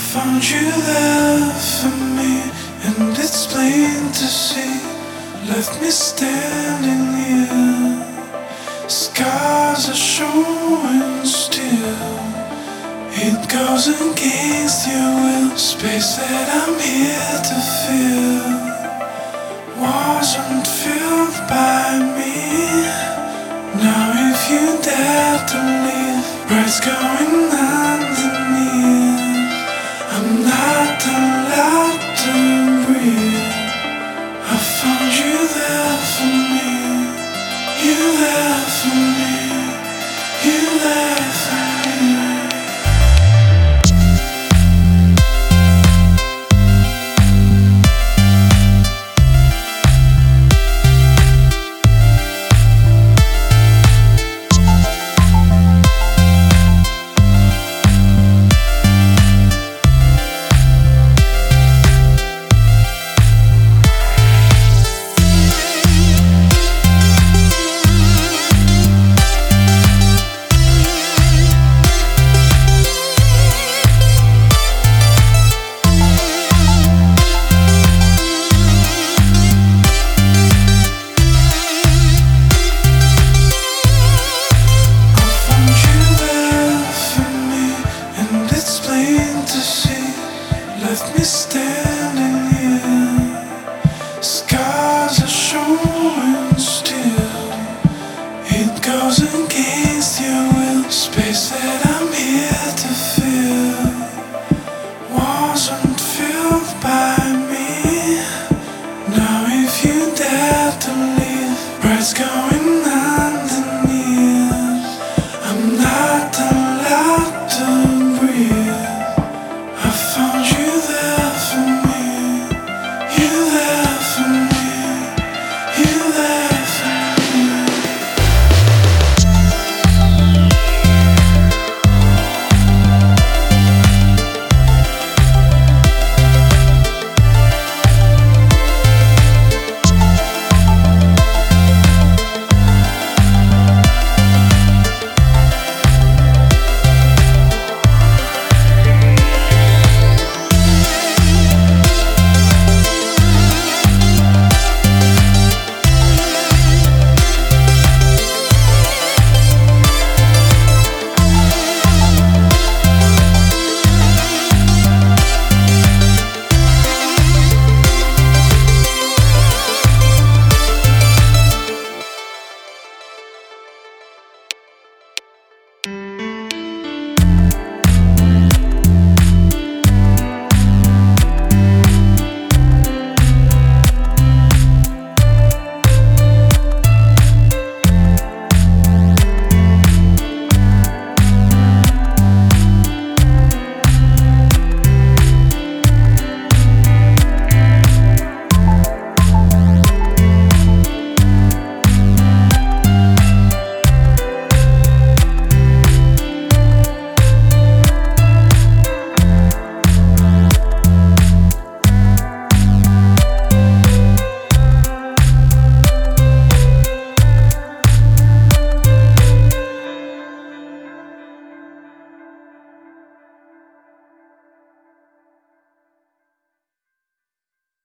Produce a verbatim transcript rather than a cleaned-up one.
found you there for me, and it's plain to see. Left me standing here. Scars are showing still. It goes against your will. Space that I'm here to fill wasn't filled by me. Now if you dare to leave, what's going underneath? I'm not allowed to breathe. I found you there for me. You there for me. You there for me. Left me stay.